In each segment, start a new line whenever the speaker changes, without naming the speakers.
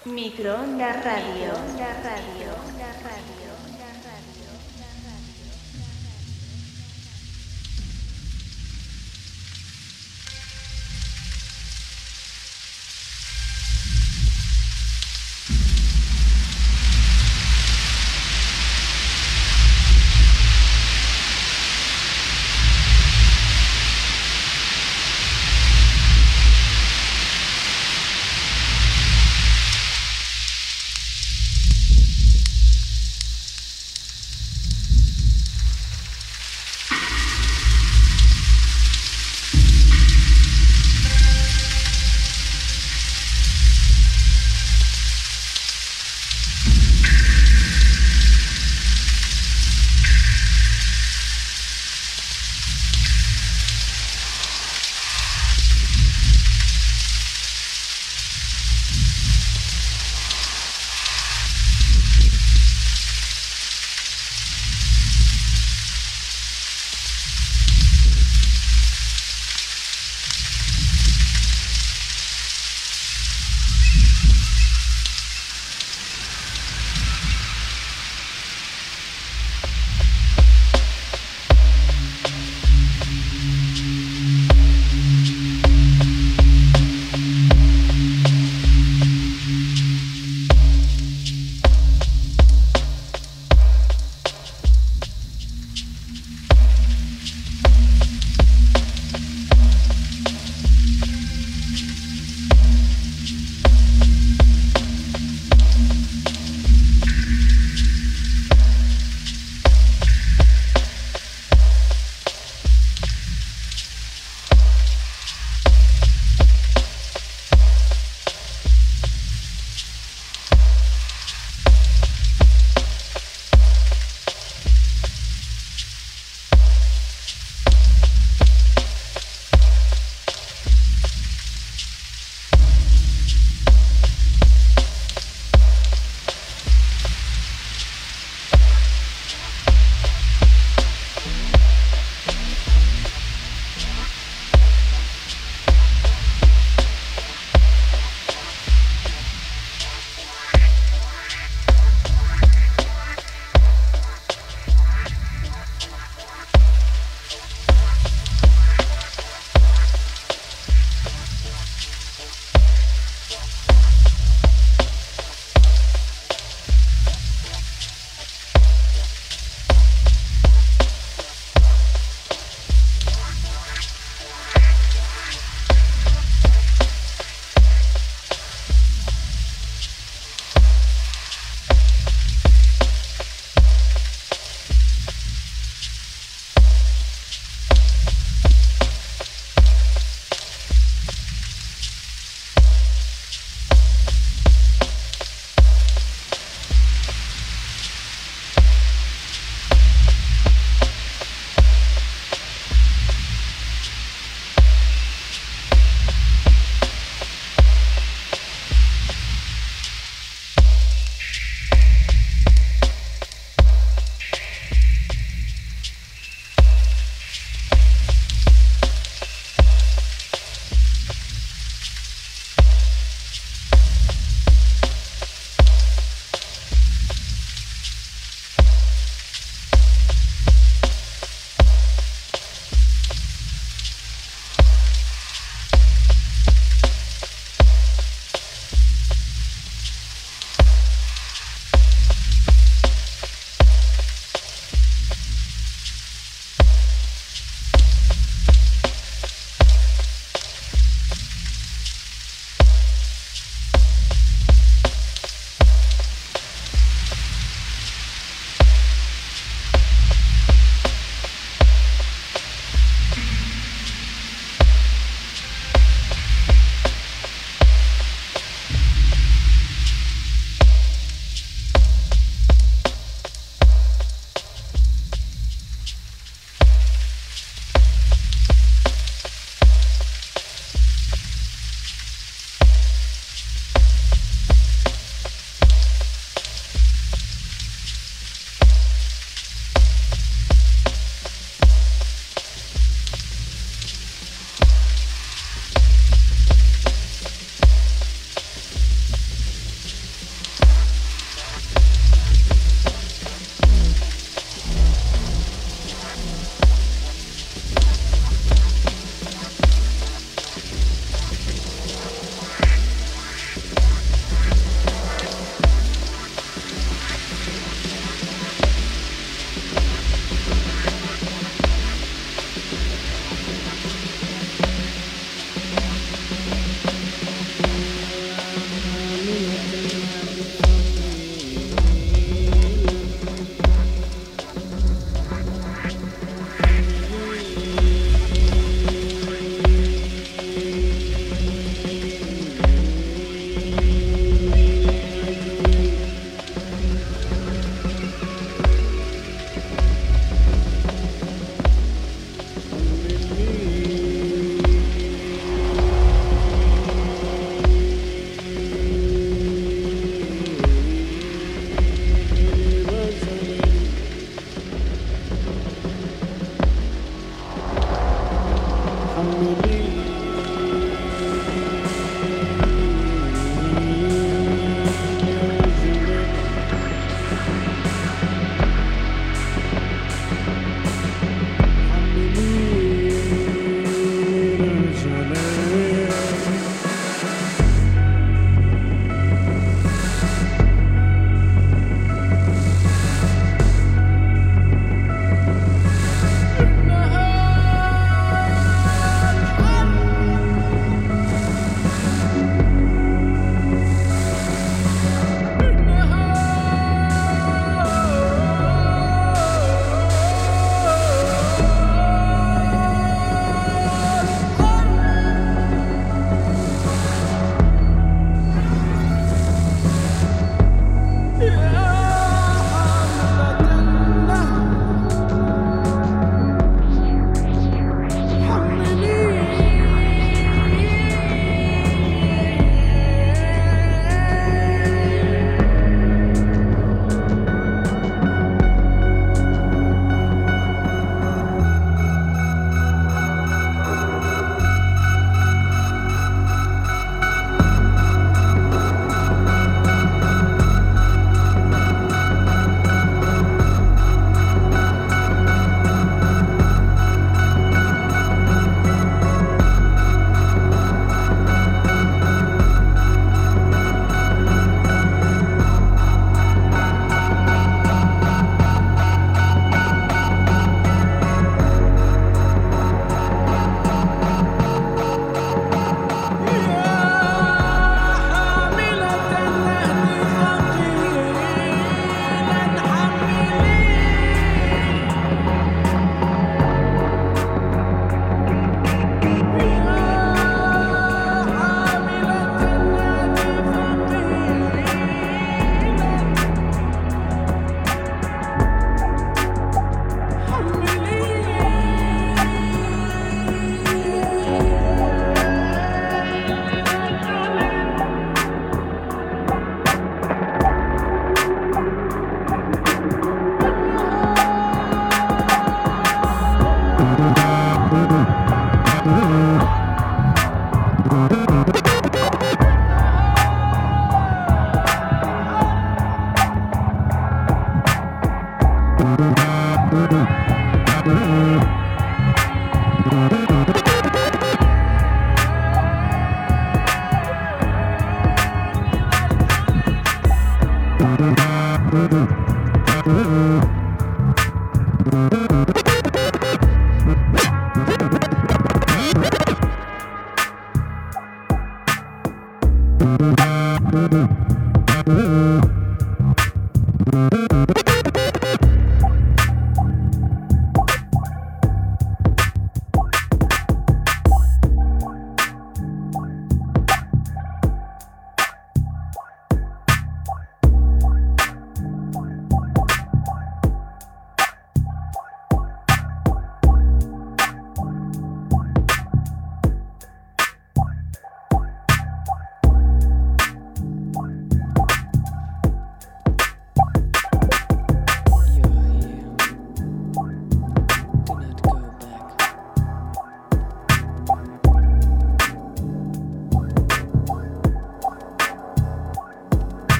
Microondas Radio.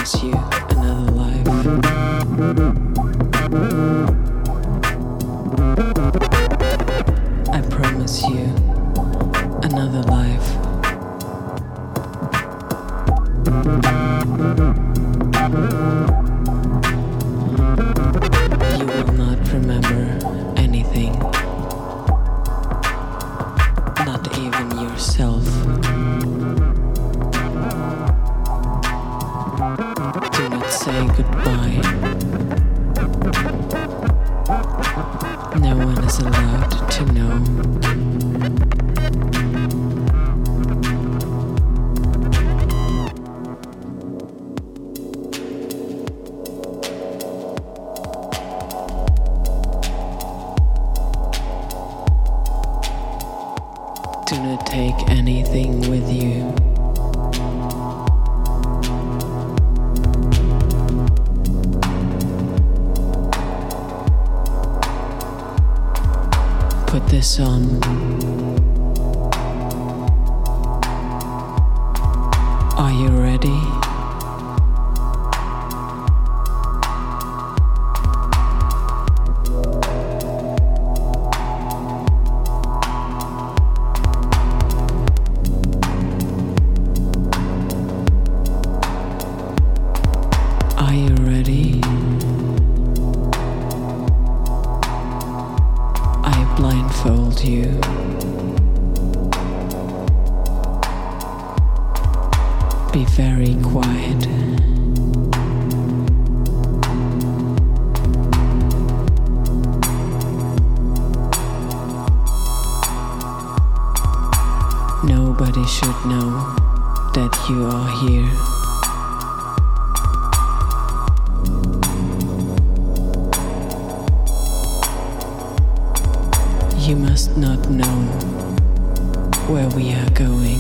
promise you another life. I promise you another life. You will not remember anything, not even yourself. Do not say goodbye. No one is allowed to know. Do not take anything with you. Put this on. Are you ready? Are you ready? I blindfold you. Be very quiet. Nobody should know that you are here. You must not know where we are going.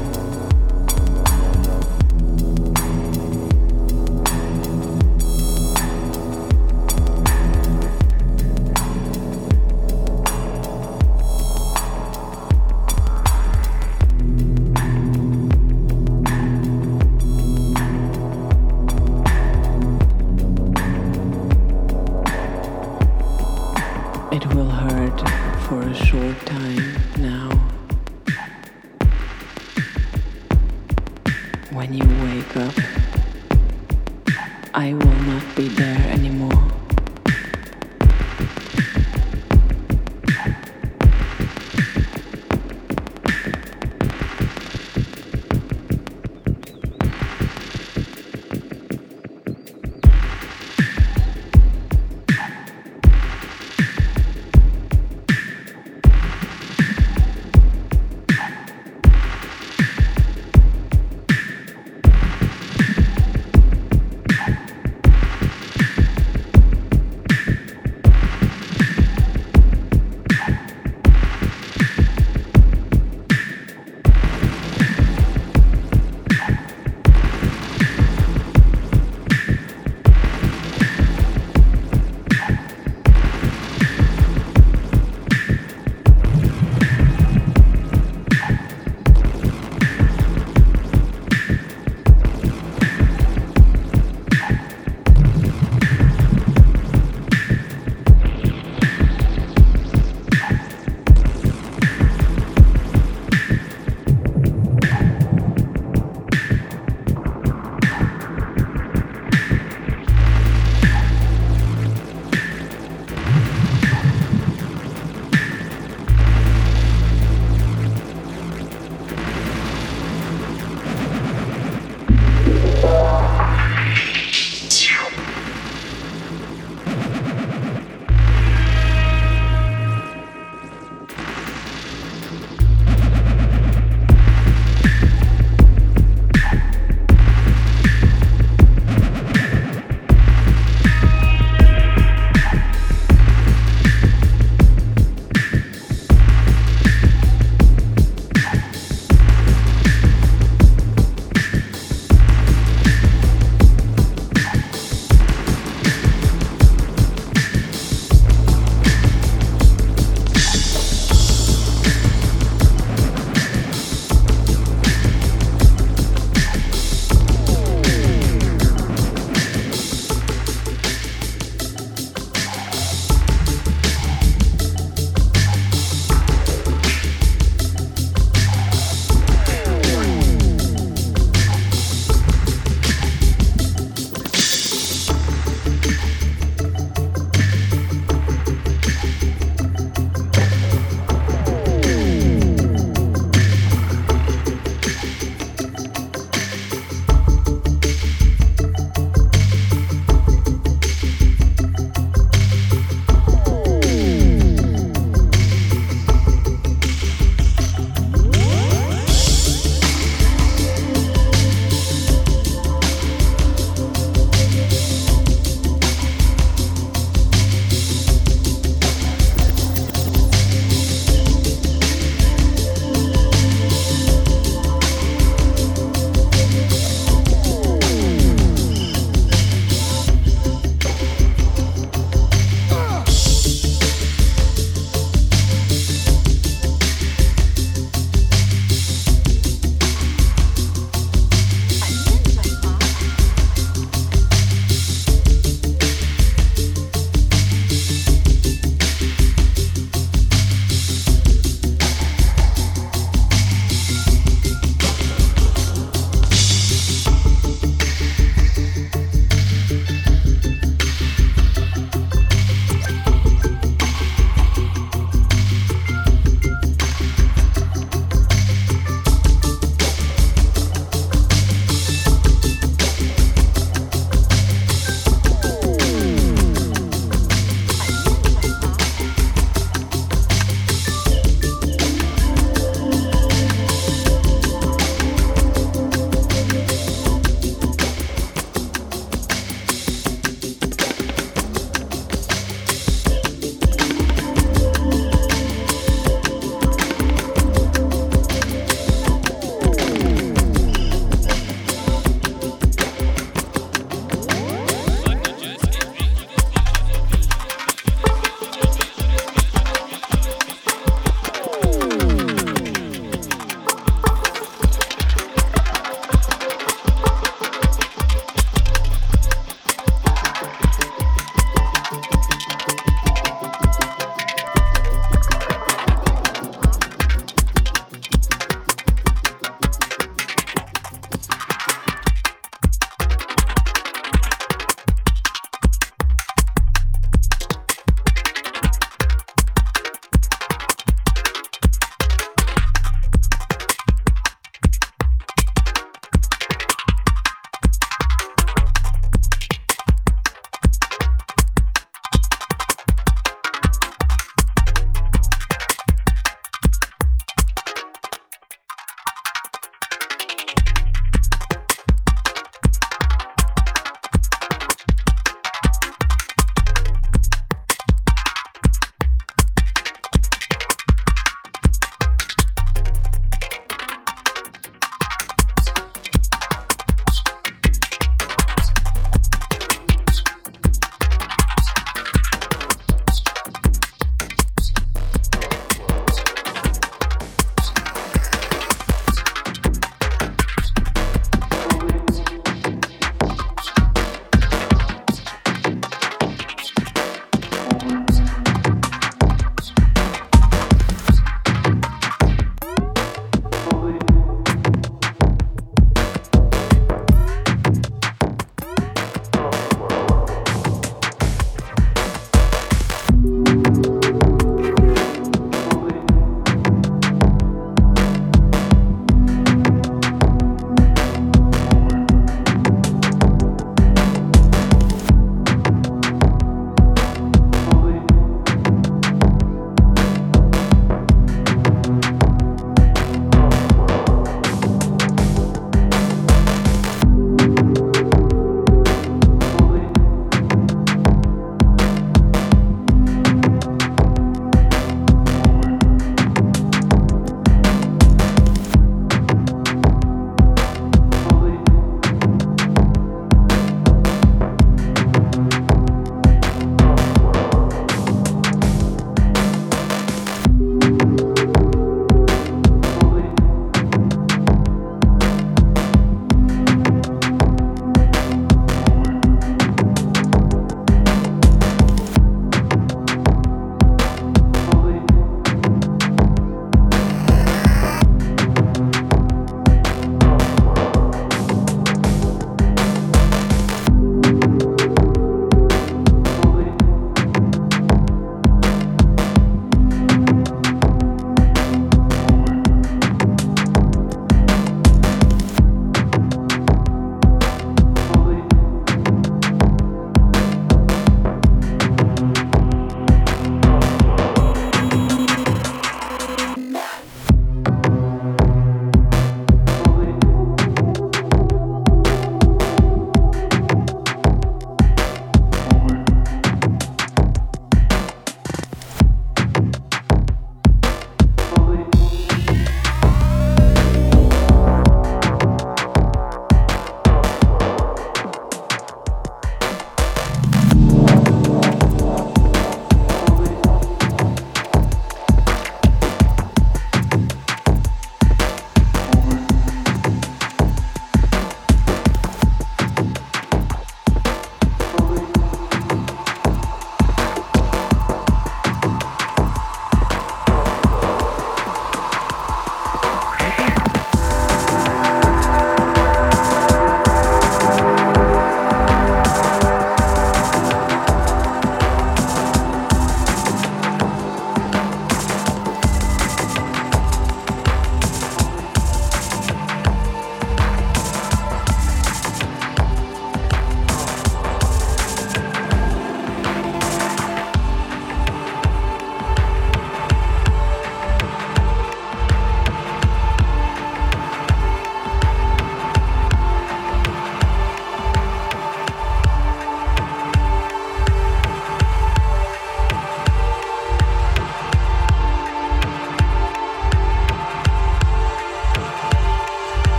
It will hurt for a short time now. When you wake up, I will not be there anymore.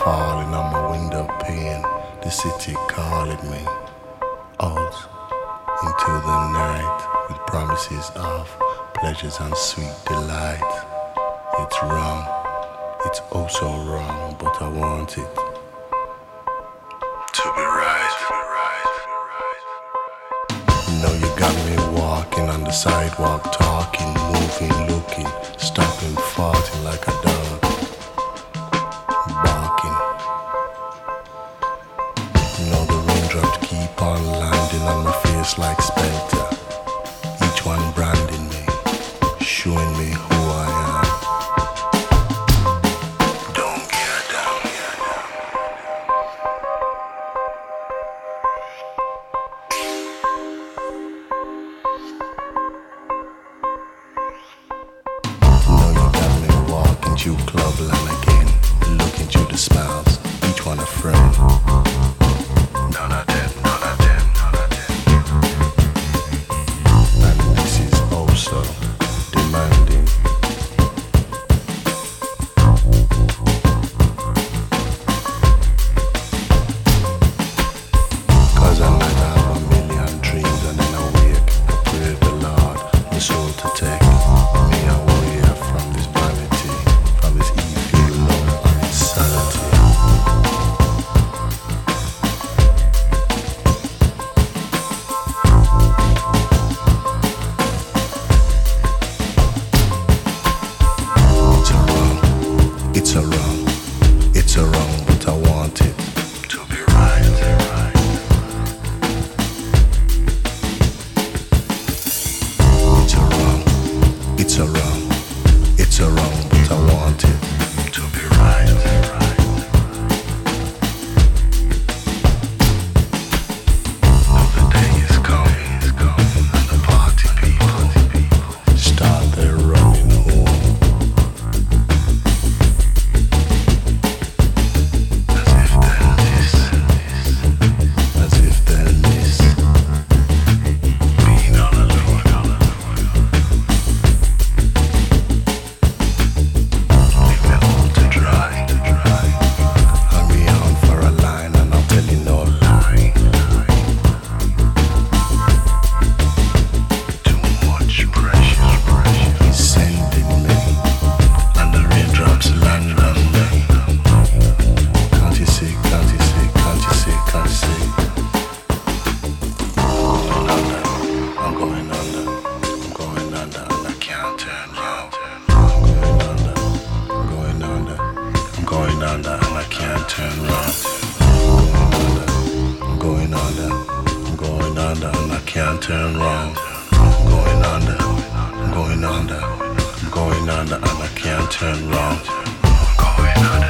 falling on my window pane, the city calling me out into the night with promises of pleasures and sweet delight. It's wrong, it's oh so wrong, but I want it to be right. Know you got me walking on the sidewalk, talking, moving, looking, stopping, farting like a dog, barking. Know the raindrops keep on landing on my face like spectre, each one branding me, showing me who I am. Don't get down. Know you got me walking through clubland again, looking through the smiles, each one a friend. None of them, none of them, none of them. And this is also demanding. Cause I might have a million dreams and then I wake, I pray the Lord, my soul to take me away from this vanity, from this evil love and insanity. It's a wrong, it's a wrong, but I want it to be right. It's a wrong, it's a wrong, it's a wrong, but I want it to be right. Now the day is coming, and the party people start their running home. As if they'll miss being all alone. Leave me all to dry. Hung me on for a line and I'll tell you no lie. Too much pressure is sending me, and the raindrops land on me. Can't you see, can't you see, can't you see, can't you see? I'm going under, I'm going under, and I can't turn round. I'm going under, I'm going under, and I can't turn round. I'm going under, I'm going under, and I can't turn round. I'm going under, I'm going under, I'm going under, and I can't turn round. I'm going under.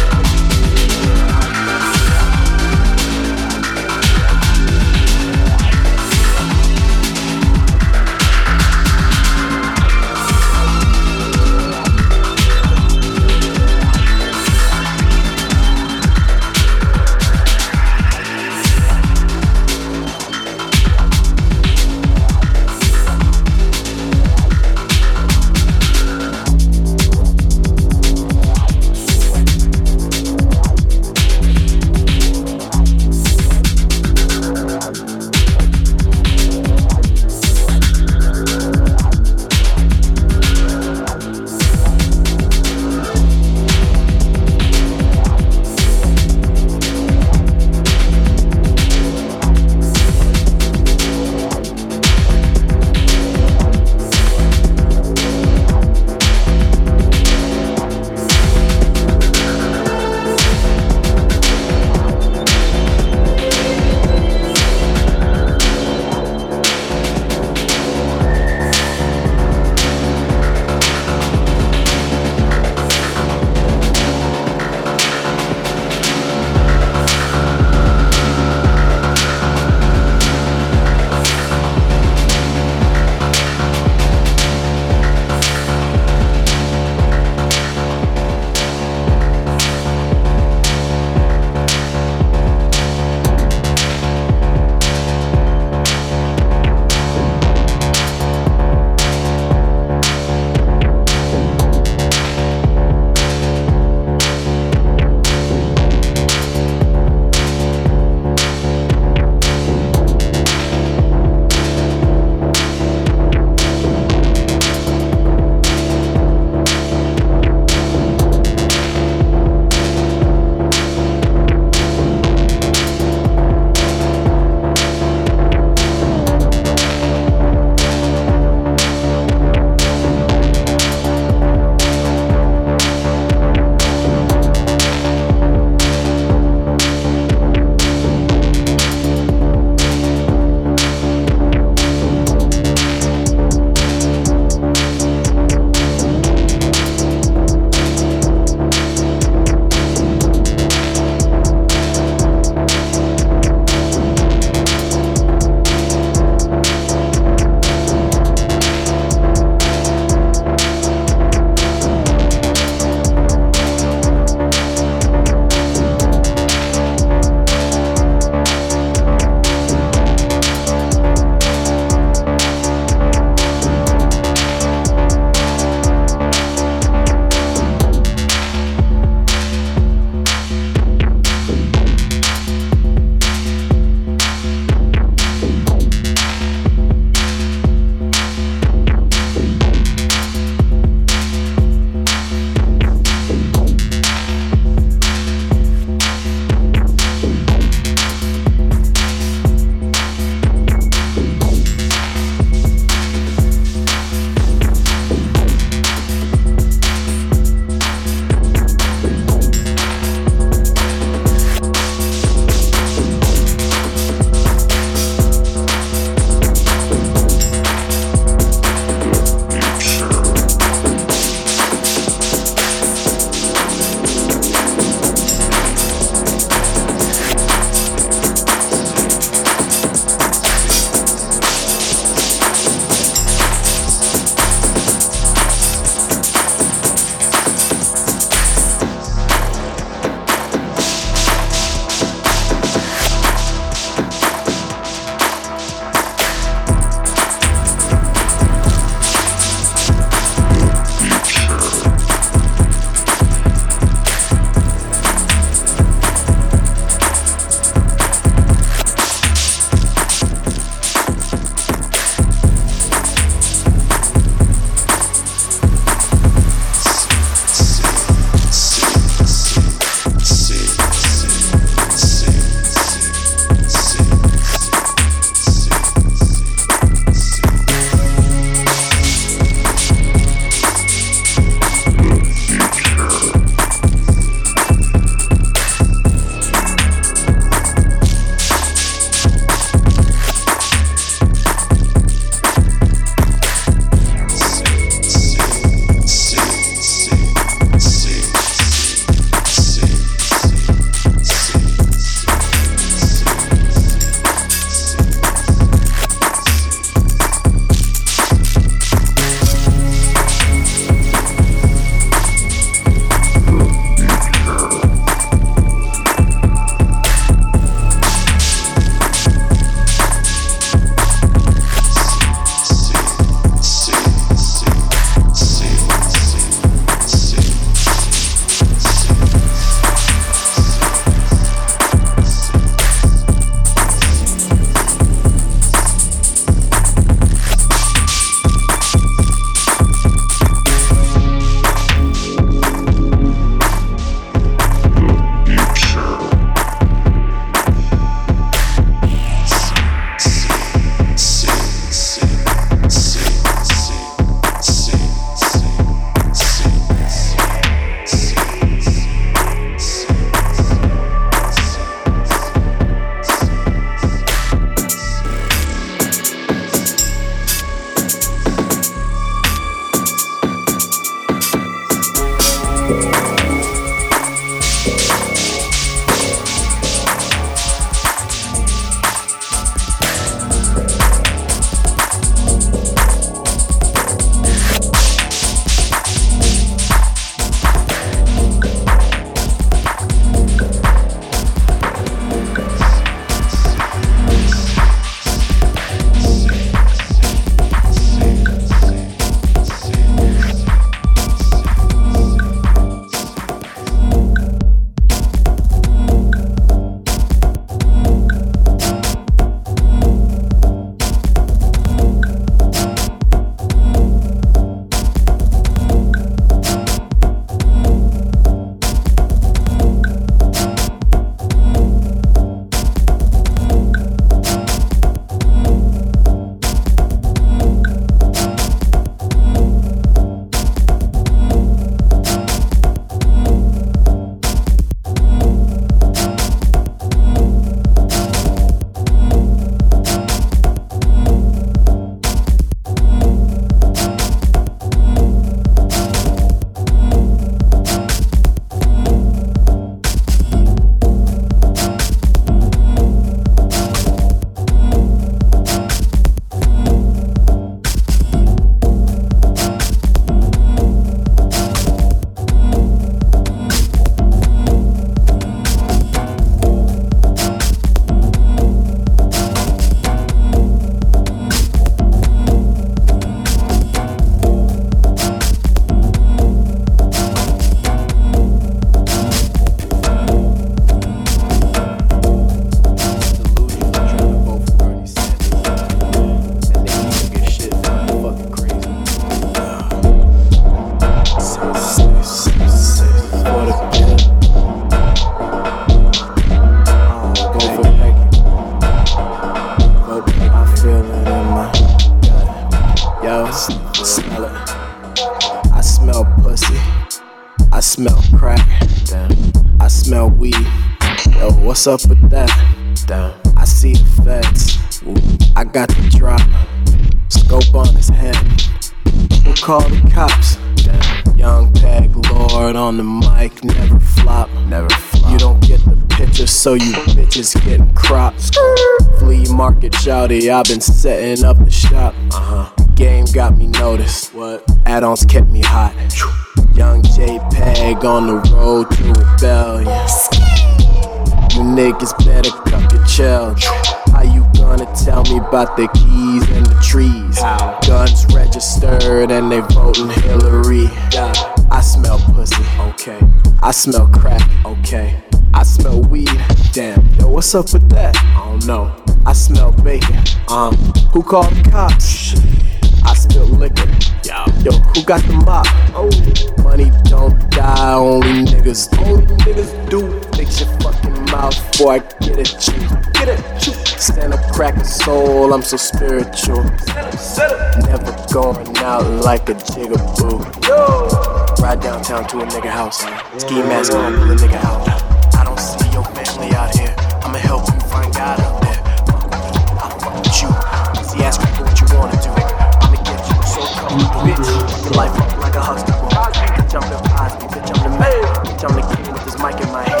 smell crack. Damn. I smell weed. Yo, what's up with that? Damn. I see the feds. I got the drop. Scope on his head. We'll call the cops. Damn. Young Peg Lord on the mic, never flop. Never flop. You don't get the picture, so you bitches getting cropped. Flea market shouty, I've been setting up the shop. Game got me noticed. What? Add-ons kept me hot. Young JPEG on the road to rebellion. You niggas better cup your chill. How you gonna tell me about the keys and the trees? How? Guns registered and they voting Hillary. I smell pussy, okay. I smell crack, okay. I smell weed, damn. Yo, what's up with that? I don't know. I smell bacon. Who called the cops? I spill liquor. Yo, who got the mop? Oh, money don't die, only niggas do. Fix your fucking mouth before I get at you. Get at you. Stand up, crack a soul, I'm so spiritual. Never going out like a jigaboo. Ride downtown to a nigga house. Ski mask on, pull a nigga out. I don't see your family out here. I'ma help you find God out there. I'll fuck with you. See, ask people what you wanna do. Bitch, your life up like a Huxtable. Bitch, I'm the Cosby, bitch, I'm the man. Bitch, I'm the king with this mic in my hand.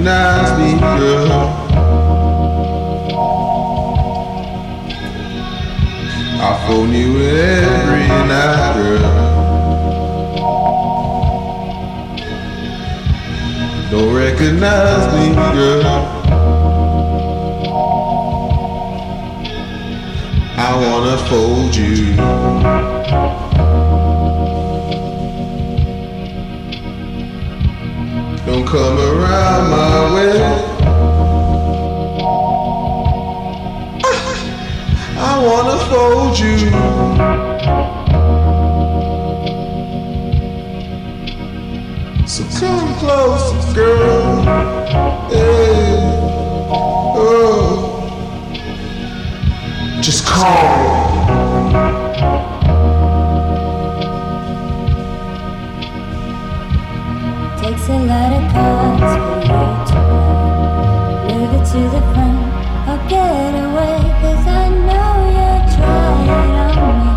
recognize me, girl. I phone you every night, girl. Don't recognize me, girl. I wanna fold you. Don't come around my way. I wanna fold you. So come close, girl. Hey, oh, just call.
Takes a lot of cards for you to play. Move it to the front or get away, 'cause I know you're trying on me.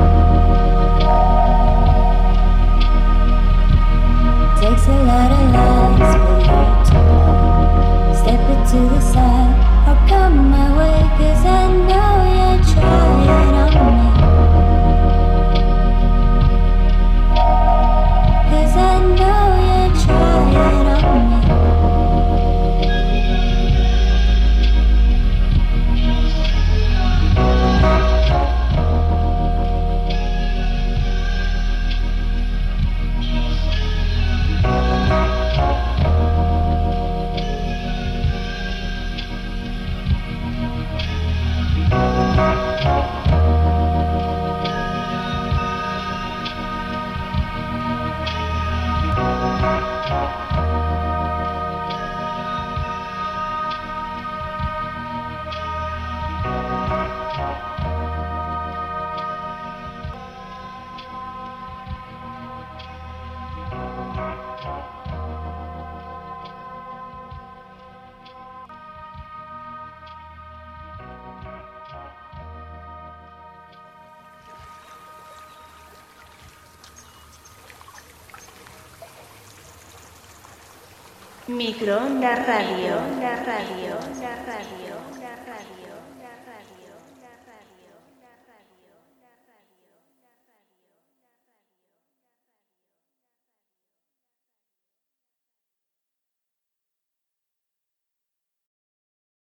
Takes a lot of lies for you to play. Step it to the side or come my way, 'cause I know you're trying on me. 'Cause I know you're trying on me.
Microondas Radio.